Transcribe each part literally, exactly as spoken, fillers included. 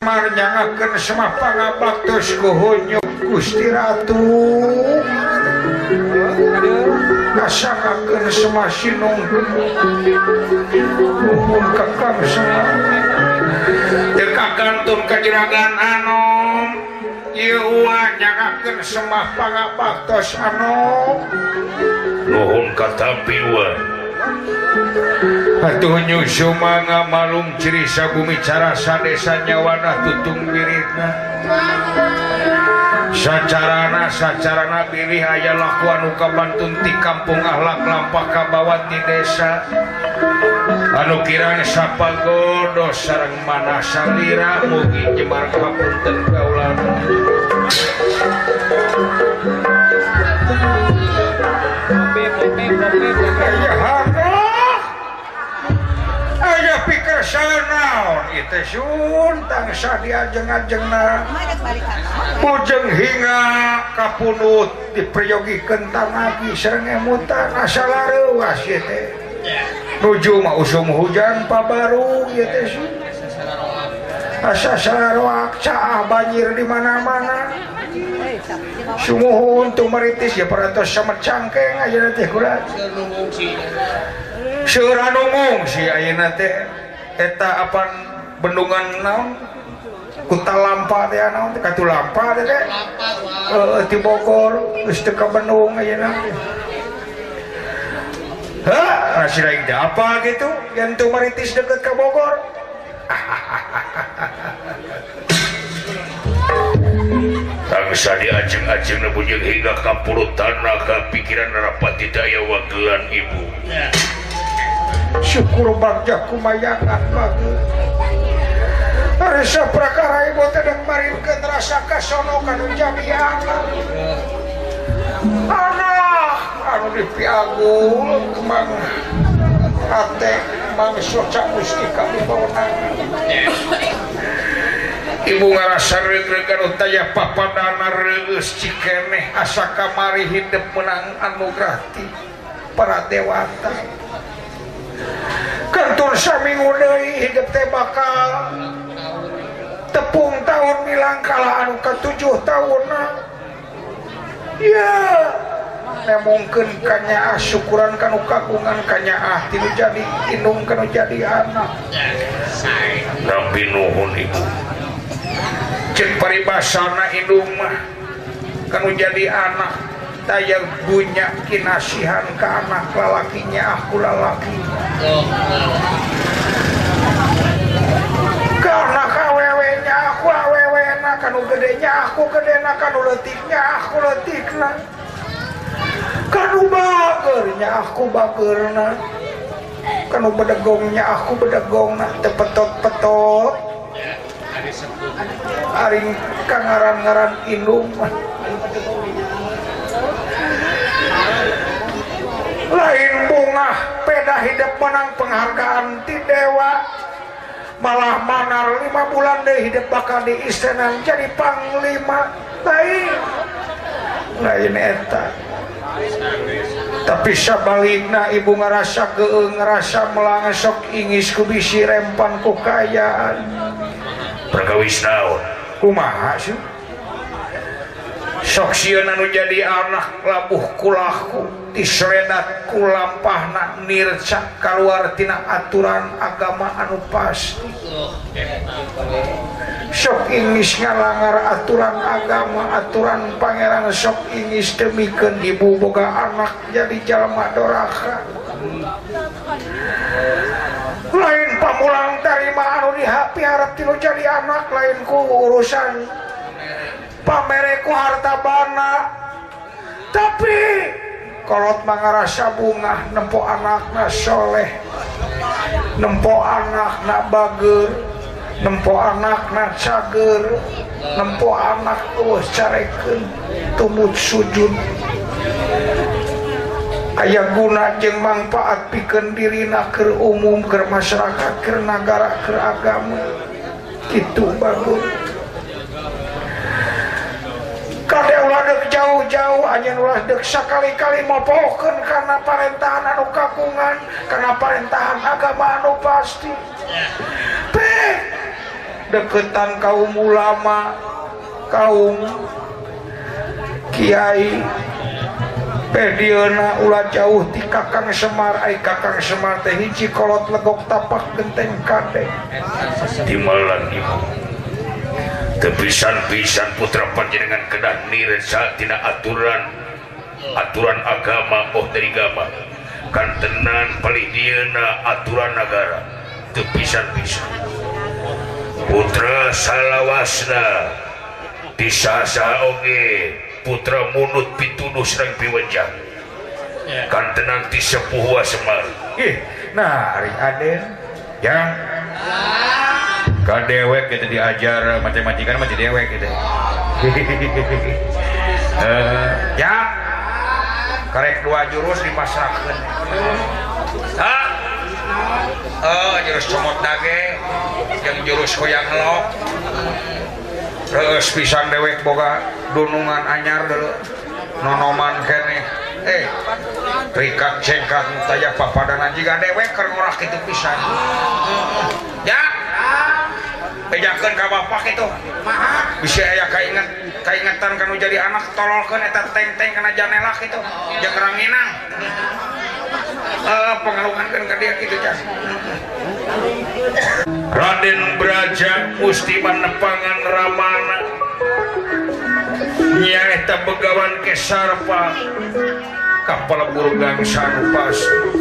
marnyangakeun semah pangabaktos kuhunyuk Gusti Ratu ngasangakeun semah sinungkeun nuhun kakang semah teu kakantun kajeragan anom ieu nyangakeun semah pangabaktos anom nuhun katampi wa atuh nyusu mangga malung ciri sabumi cara sadesa nyawana tutung wiridna sacarana sacarana pilih aya laku anu kabantun ti kampung ahlak lampah kabawat di desa anu kirana sapagodo sareng mana salira mugi jemar kapunten kaulana aya pikir sanaon ieu sun tangsa diajeng-ajengna bujeng hingga kapunut dipriyogikeun tanagi sareng emutan asa lareuas ieu teh nuju mah usum hujan pabaru ieu teh sun asa sararoak caah banjir di mana-mana sumuhun tumaritis ya parantos samet cangkeng ayeuna teh kurat seueur anu ngungsi ayeuna teh eta apan bendungan naon kuta lampa teh naon teh katu lampa teh teh heeh ti Bogor geus teu ka Bandung ayeuna hah masih lain apa gitu yang tumaritis deket ka Bogor tangsa diajeng-ajeng bujeng hingga kapurutan kapikiran rapati daya wagelan ibu syukur bagja kumayangan bagus rasa prakara ibu tedeng marinkeun rasa kasono kanu jadi anak anak anu dipiagul kemang hate mang soca mustika dibawana ibu ngarasa reug-reugan taya papadana reus cikeneh asa kamari hidup menang anugerah ti para dewata kantun saminggu deui hidup teh bakal tepung tahun milang kala anu katujuh tahunna ya nemungkeun kanyaah syukuran kanu kagungan kanyaah tilu jadi indung kanu jadi anak nabi nuhun ibu cek paribasana indung mah kanu jadi anak tayang punya kinasihan ke anak lalakinya aku lalaki karena kawewenya aku awewena kanu gedenya aku gedena kanu letiknya aku letikna kanu bagernya aku bagerna kanu bedegongnya aku bedegongna tepetot-petot aring kangaran-ngaran indung lain bunga peda hidup menang penghargaan ti dewa malah manar lima bulan deh hidup bakal di istana jadi panglima lain lain eta tapi sabalikna ibu ngerasa geung ngerasa melang sok ingis ku bisi rempan ku kayaan perkawis naon kumaha sih sok sieun anu jadi anak labuh kulahku disredat ku lampahna nirca kaluar tina aturan agama anu pasti sok ingis ngalanggar aturan agama aturan pangeran sok ingis demikeun ibu boga anak jadi jalma doraka lain pamulang tarima anu diharap tinu jadi anak lain ku urusan pamereku harta bana tapi kolot mangarasa bunga nempo anakna soleh nempo anakna bager nempo anakna cager nempo anak tuh carekeun tumut sujud aya guna jeung manfaat pikeun dirina keur umum keur masyarakat keur nagara keur agama kitu bagus kade ulah dek jauh-jauh anjeun ulah dek sakali-kali mopohkeun karena parentahan anu kagungan karena parentahan agama anu pasti pe deketan kaum ulama, kaum kiai, pedieuna ulah jauh ti Kakang Semar. Ai Kakang Semar teh hiji kolot legok tapak genteng kade timalan ibu tepisan-pisan putra panjenengan kedah niresa tina aturan aturan agama oh dari agama kantenan palih dieuna aturan negara tepisan-pisan putra salawasna disasa oge putra munut pituduh serang piwajah kantenan ti sepuh Semar. Ih, nah hari Aden yang kadewek kita diajar matematika masih dewek gitu. uh, ya karek dua jurus dipasrahkan. Hah? Oh, jurus comot dage yang jurus koyang lok. Terus pisan dewek boga dunungan anyar dulu nonoman kene eh rikat cengkat taya papadanan jika dewek keur ngorah kitu pisan ya bejakeun ka bapak kitu bisa aya kainget kaingetan kanu jadi anak tololkeun eta teng-teng kana janela kitu jeung ranginang eh pangalungankeun ka dia kitu can. Raden Braja musti manepangan ramana nyaeta begawan ke Sarpa kapal burgang sanupas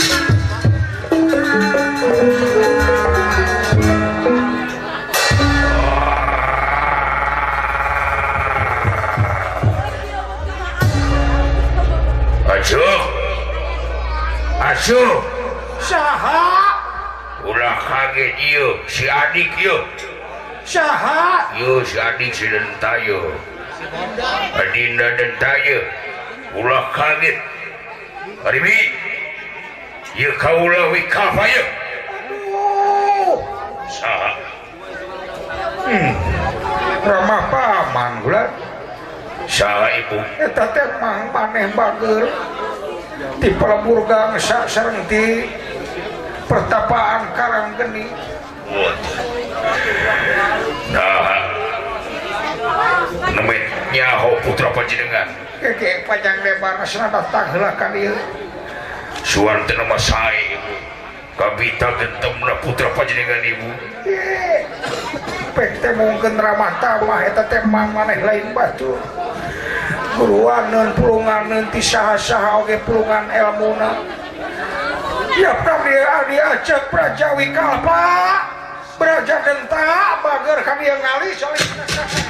acuh acuh Saha ulah kaget ieu si adik ieu saha ieu si adik si Dentayo Adinda Dentayo ulah kaget Arimi ieu kaula wikafa ieu saha hmm ramah paman ulah saha ibu eta teh mang maneh bager ti palaburgang sareng ti pertapaan Karanggeni. Nah, nemet nyaho putra panjenengan. Keke panjang lebar asna datang heula ka dieu. Suan teu nama sae ibu. Kabita gentemna putra panjenengan ibu. Ye. Pek teh mungkin ramah tamah eta teh maneh lain batu. Guruaneun pulunganeun ti saha-saha oge pulungan elmuna. Ya kami adi acak Prajawi Kalpa Braja Denta bager kami yang ngali soalnya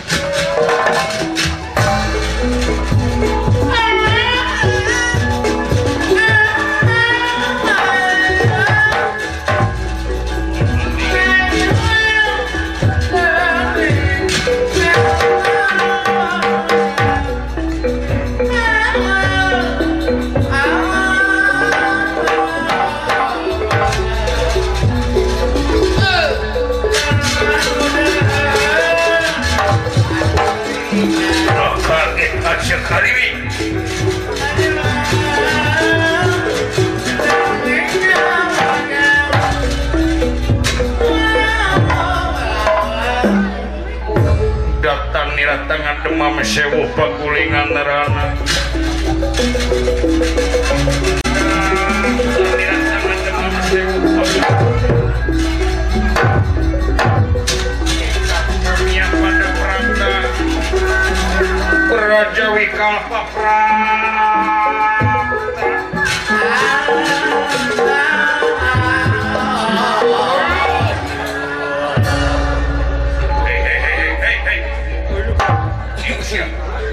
Karimi datang niratangan demam sewu pakulingan nerana niratangan demam sewu pakulingan pada perangga Prajawi Kalpa Pranta hei hei hei hei hei siusia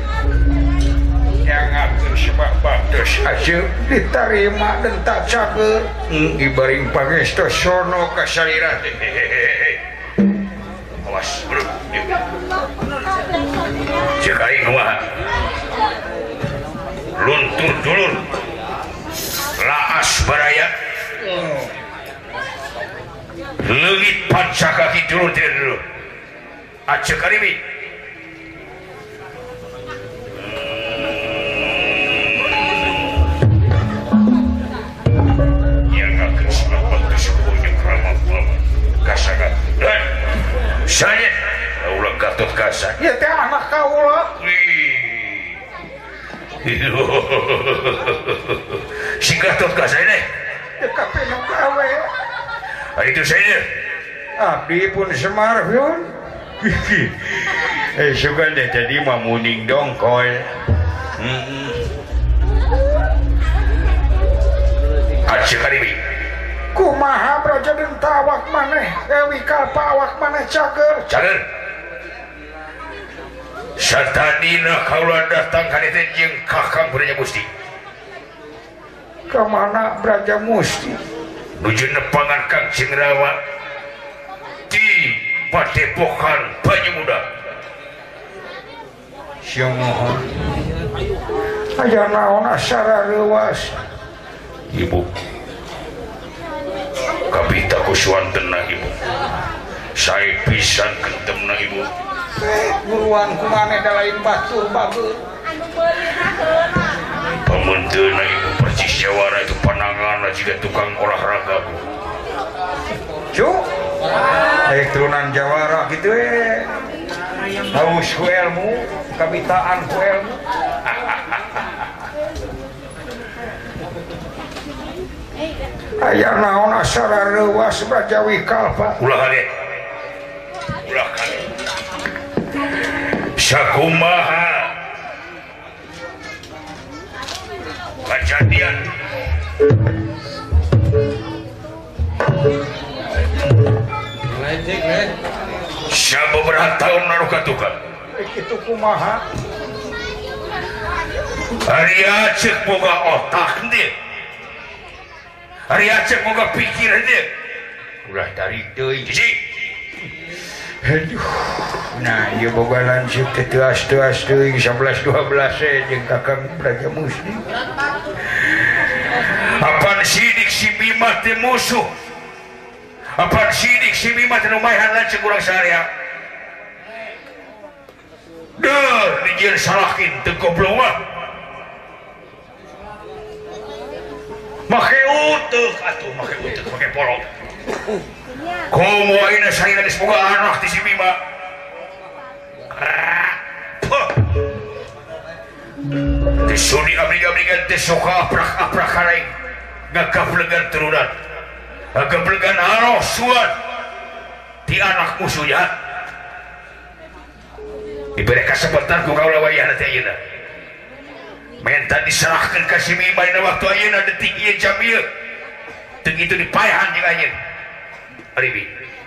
yang atur sebab bados aja diterima dan tak cager ibaring pangestu sono kasalira hehehe awas bro cekaing wah luntur dulur laas baraya leungit pancakaki dulur tidak dulu acek karimi yang akan selamat kesepuhnya keramah kasangat dan saya Gasan ieu teh anak kaula si Gatot Gasan deh teu kapenu gawe hari itu saya abdi pun Semar yun eh suka deh jadi mah muning dongkol heeh Aceh kadibi kumaha Braja Denta awak maneh Ewi Kalpa awak maneh cager cager satadina kaula datang ka dieu jeung Kakang Braja Musti kemana Braja Musti nuju nepangan Kang Cingrawa di Padepokan Banyu Muda siang mohon aya naon asara leuwas ibu kapita kuswantenna ibu sae pisan kentemna ibu buruan kumane da lain batur bageut pamunteuna ibu persis jawara itu pananganna jiga tukang olahraga bu cu eh turunan jawara gitu eh haus ku ilmu kabitaan ku ilmu aya naon asara leuwas Brajawi Kalpa ulah kali ulah kali sakumaha kejadian sabeberapa tahun lalu katukan kitu kumaha hari Aceh boga otak dia hari Aceh boga pikiran dia ulah tarik deui jiji aduh nah ieu boga lancip teh teas-teas teuing sebelas dua belas eh jeung Kakang Braja Musti apaan sidik si Bima teh musuh apaan sidik si Bima teh lumayan lancip urang sarea deuh dijieun salakin teu goblok mah make utuh atuh make utuh make polong komo ayeuna saeuna geus boga anak ti si Bima teh suni abdi-abdigan teh soka aprak-aprak haraing ngagaplegan turunan ngagaplegan arosuan ti anak musuhnya diberi kesempatan ku kaula wayahna teh ayeuna menta diserahkeun ka si Bima dina waktu ayeuna detik ieu jam ieu teu kitu dipaehan jeung ayeuna Aribi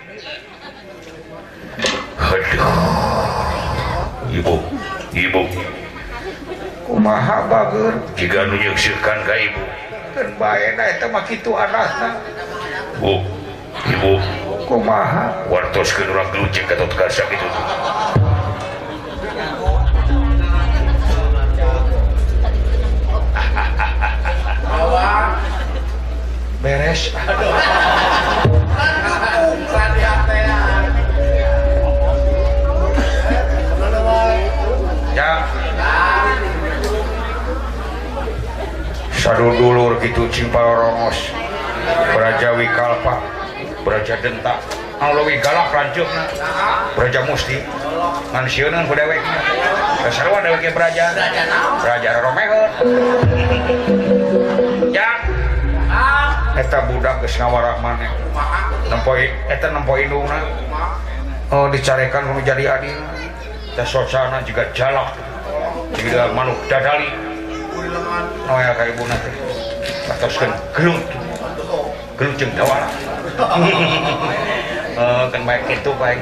aduh ibu ibu kumaha bageur jika nu nyeungseukeun ka ibu keun bae da eta mah kitu anasna bu ibu kumaha wartoskeun urang gelucing Gatot Gasan kitu beres ya sadudulur gitu Cimpalorongos Brajawi Kalpa Braja Denta anu leuwih galak lanceukna Braja Musti ngan sieuneun ku dewekna kasarua dewek Braja Braja Romeheun ya eta budak geus ngawarah maneh nempoin eta nempoin indungna oh dicarekan kudu jadi adina teh sosana juga jalak juga manuk dadali noya ka ibuna teh atoskeun gelut gelut jeung dawara eh kan bae kitu bae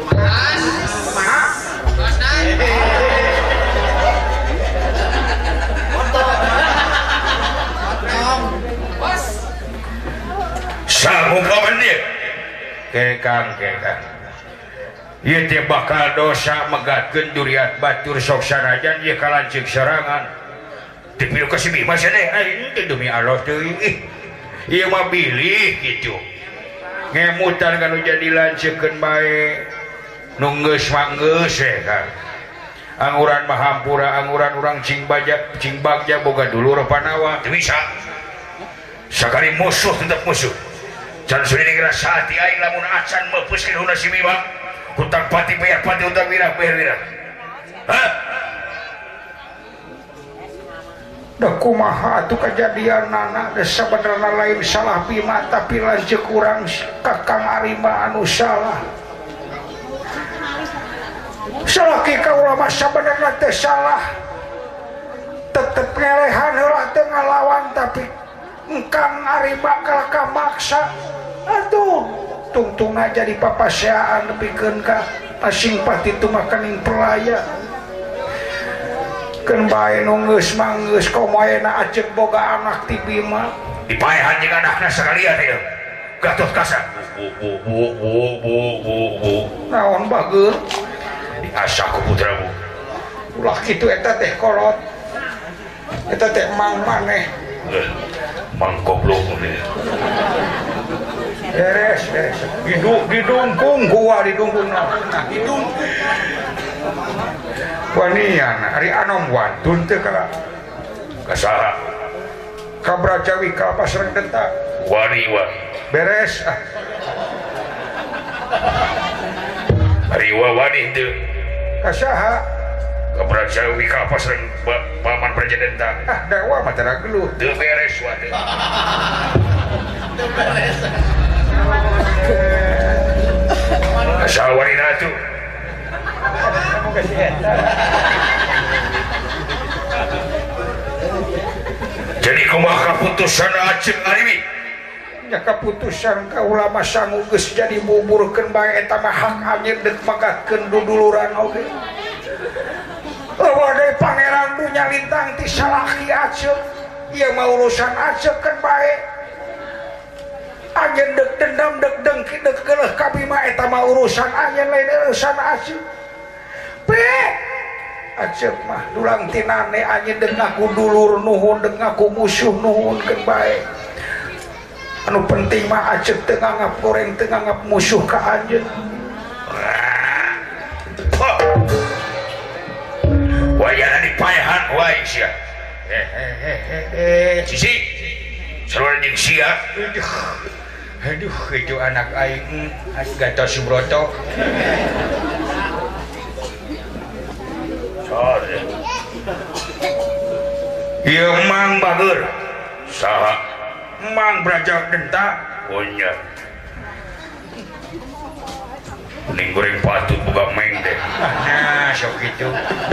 sanggup kapan dia kekang kekang ieu teh bakal dosa megatkeun duriat batur sok sanajan ieu kalanceuk serangan teu pilu ka si Bima cenah ai teu demi Allah teuing ih ieu mah bilih kitu ngemutan kanu jadi lanceukkeun bae nu geus mah geus we Kang anguran mah hampura anguran urang cing bajak cing bagja boga dulur panawa teu bisa sakali musuh tetep musuh can sudah ngerasa hati aing lamun acan mepuskeun huna si Bima kutang pati bayar pati utang wirang bayar wirang hah da kumaha atuh kejadian nana da sabenerna lain salah Bima tapi lanceuk kurang Kakang Arima anu salah salaki kaula mah sabenerna teh salah tetep ngelehan heula teu ngalawan tapi engkang Arima kalaka maksa atuh tungtungna jadi papaseaan nepikeun ka asing pati tu makaning pelaya keun bae nu geus manggeus komoena ajeg boga anak ti Bima dipaehan jeung anakna sakalian ieu Gatot Kaca bu bu bu bu bu bu bu naon bageur diasah ku putramu ulah kitu eta teh kolot eta teh mang maneh mang goblok ini beres beres didung didungkung gua didungkung nah didung wanian ari anom wantun teu kala kasaha ka Brajawi ka Pasreng Denta wani wa beres ah ari wa wani teu kasaha ka Brajawi ka Pasreng Paman Praja Denta ah dawa mah tara geluh teu beres wa teu teu beres kasaha wanina tuh jadi kumaha kaputusan Ajeng Arimi nya kaputusan kaula mah sangu geus jadi buburkeun bae eta mah hak anjeun deuk magatkeun duduluran oge eueuh deui pangeran dunya lintang ti salaki Ajeng ieu mah urusan Ajeng keun bae anjeun deuk dendam deuk dengki deuk geuleuh ka Bima eta mah urusan anjeun lain urusan Ajeng pe Ajeng mah dulang tinane anjeun deuk ngaku dulur nuhun deuk ngaku musuh nuhunkeun bae anu penting mah Ajeng teu nganggap goreng teu nganggap musuh ka anjeun wayana dipaehan wae sia hehehe sisi sarua jeung sia aduh itu anak aing Gatot Subroto sorry ieu mang bageur saha mang Braja Denta oh nya kuning goreng patut boga meng deh nah sok kitu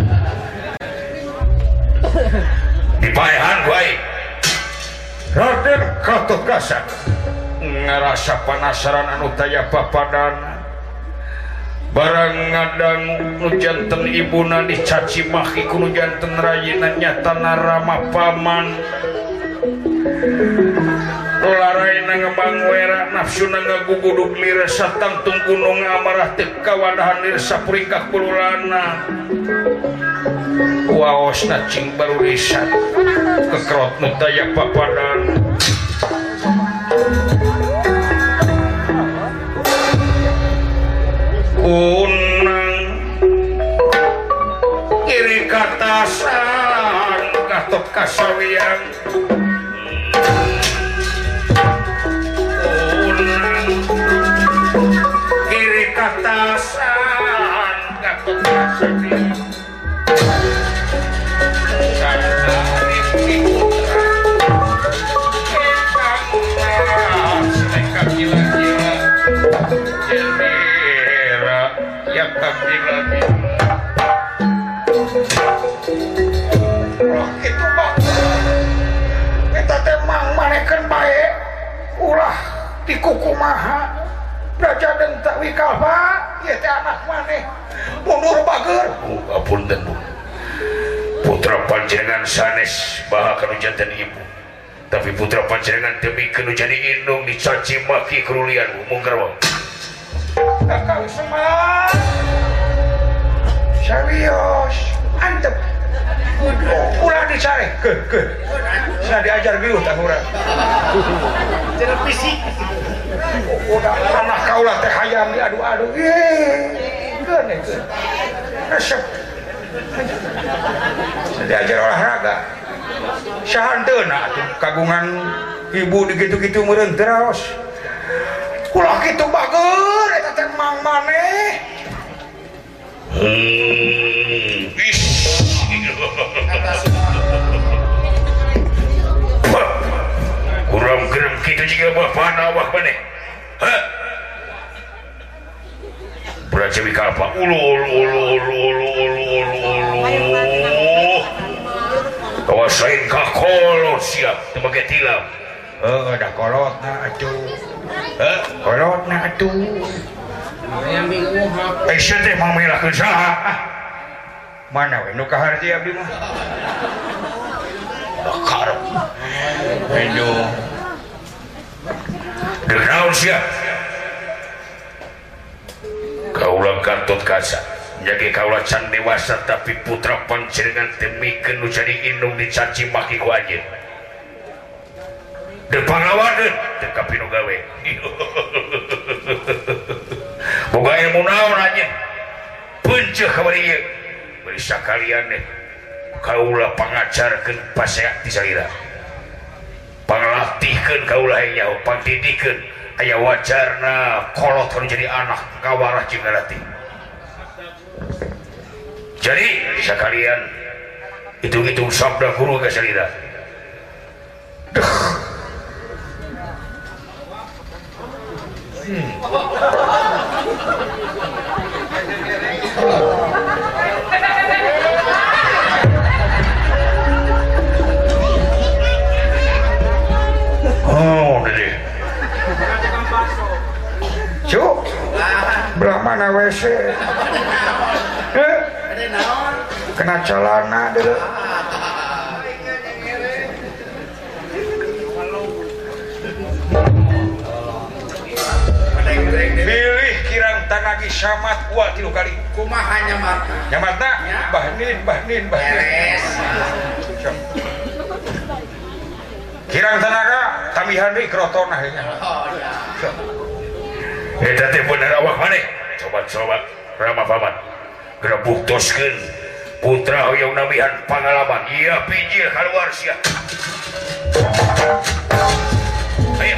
dipaehan wae Raden Gatot Kaca ngarasa panasaran anu taya papadana barang ngadang nu janten ibuna dicaci maki ku nu janten rayina nyatana rama paman laraina ngembang wera nafsuna ngagugudug lira satangtung gunung amarah teu kawadahan lir sapuringkah kululana waosna cing baru risan kekerot nu taya papadana unang kiri katasan Gatot Kasawiang unang kiri katasan Gatot Kasawiang santari putra ingkang silekat gila-gila jelmira ya kabila-gila ulah kitu bang eta teh mang manekeun bae ulah di kukumaha Braja Denta Wikalpa ieu teh anak maneh mundur bageur oh apunten Bu putra panjenengan sanes baha kanu janten ibu tapi putra panjenengan teu mikeun jadi indung dicaci maki kerulian mungkar wae Kakang Semar serius antep ulah dicari ke ke saya diajar geus tah urang cenah fisik udah anak kaulah teh hayam diadu-adu ih keun keun resep saya diajar olahraga sahanteuna atuh kagungan ibu digitu-gitu meureun teu raos ulah kitu bageur eta teh mang maneh jika bapana awak mana hah beraja wika apa ulu ulu ulu ulu ulu ulu ulu ulu kawasain kakolot siap sebagai tilam eh ada kolot na atuh eh kolot na atuh yang bingung apa eh siya teh mamilahkeun saha mana we nu kaharti abdi mah karep aduh Denaun siap kaulah Gatot Kaca jadi kaulah can dewasa tapi putra panjenengan temikeun nu jadi indung dicaci maki ku anjeun teu panglawaneun teu kapinu gawe boga ilmu naon anjeun beunceuk kamari ieu bari sakalian deh kaulah pangajarkeun paseak ti salira panglatihkeun kaulah nyaho pangdidikeun aya wajarna kolot kan jadi anak kawarah jeung ngarati jadi sakalian hitung-hitung sabda guru ka salira hmm. Oh, deh. cuk belah mana W C eh kena celana dulu pilih kirang tanagi samat wa tilu kali kumaha nyamat nyamatna bahnin bahnin bahnin kirang tenaga tamihan deui krotonah nya eta teh bener awak maneh coba-coba Rama Paman geura buktoskeun putra hoyong nabihan pangalaman ieu pijil kaluar sia ayo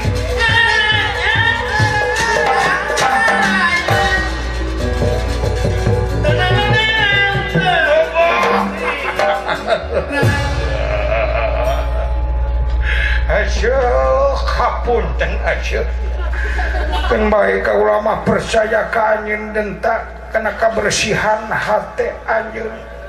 asyuh kapunten asyuh kan baik ka ulama percaya ka anjeun dentak kana kebersihan hati anjeun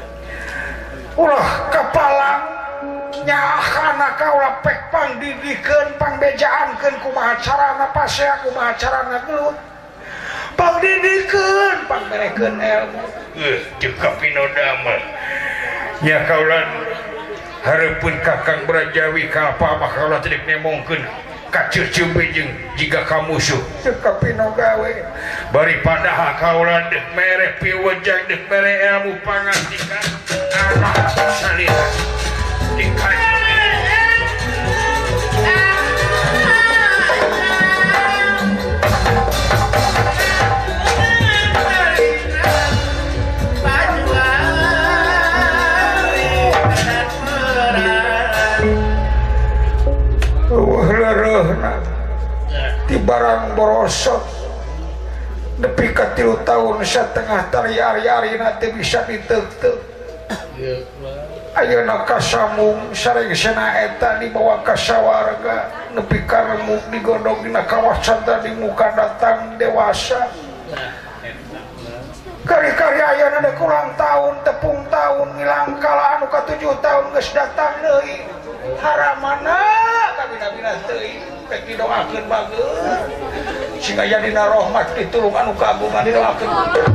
ulah kapalang nyahana ka ulah pek pangdidikeun pangbejaankeun kumaha carana pasea kumaha carana gelut pangdidikeun pangmerekeun ilmu eh jeung kapinodama nya kaulan hareupeun Kakang Brajawi ka apa mah kaulah teu nemongkeun ka ceuceup jeung jiga ka musuh teu kapino gawe bari padahal kaulah deuk mere piwejang deuk mere ilmu pangantikan anak salira dikaji di barang borosot nepi ka tilu tahun satengah tari ari-ari nanti bisa diteuk-teuk ayeuna kasamung sarengsena eta dibawa ka sawarga nepi ka remuk digodog dina kawasan di muka datang dewasa kari-kari ayeuna deuk ulang tahun tepung tahun ngilang kala anu ka tujuh tahun geus datang deui haramana kabina-bina teuing rek didoakeun bageus sing aya dina rahmat ditulung anu kagungan didoakeun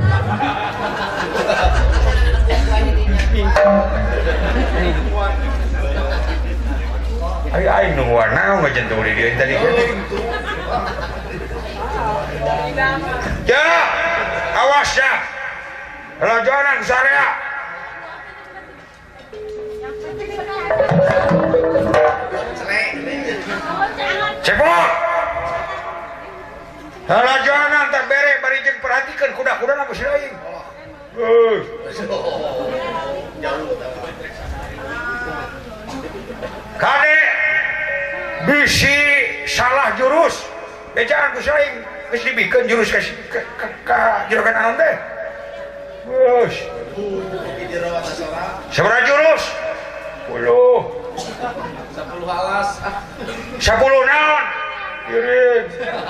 ai ai nu warna ngajen teu di dieu tadi ya awas ya rajonan sarea cepot rajonan tak bere bari jeung perhatikeun kuda-kudana geus lain geus kade bisi salah jurus bejaan geus lain geus dibikeun jurus ka ka juragan anon teh geus sabaraha jurus sepuluh sepuluh alas sepuluh naon Iring.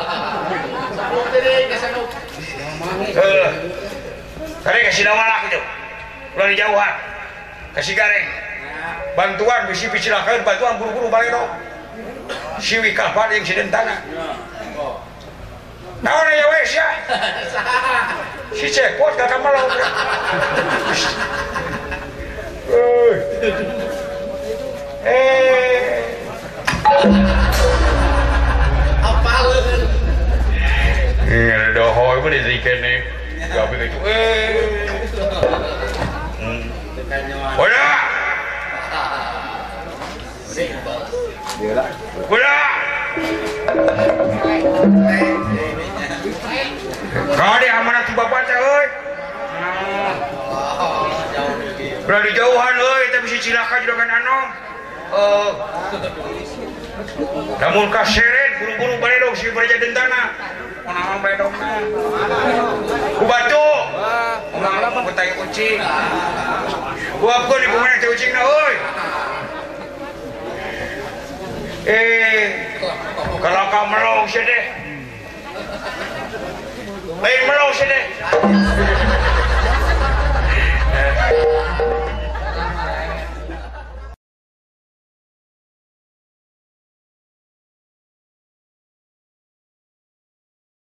Eh. Tadi kasih nama lah gitu. Ulah dijauhan. Kasih gareng. Bantuan bisi picilakeun bantuan buru-buru balik dong. Siwi kapan yang sidentana. Naon ya wes ya. Si cepot kakak malau. Eh. Eh. Apa lu? Eh, dohoy mah disikan nih. Gak begitu. Eh. Hmm. Udah. Udah. Kau di amanat si bapak teh euy. Udah di jauhan euy, tapi si cilaka juga kan anom. Eh. Namun kaseret buru-buru balik dong si Praja Dentana. Monaon bae dong. Ku batu. Ngomong bertanya kucing. Buapkeun di pemain teh kucingna euy. Eh, kalau kau melong sih deh, lain melong sih deh.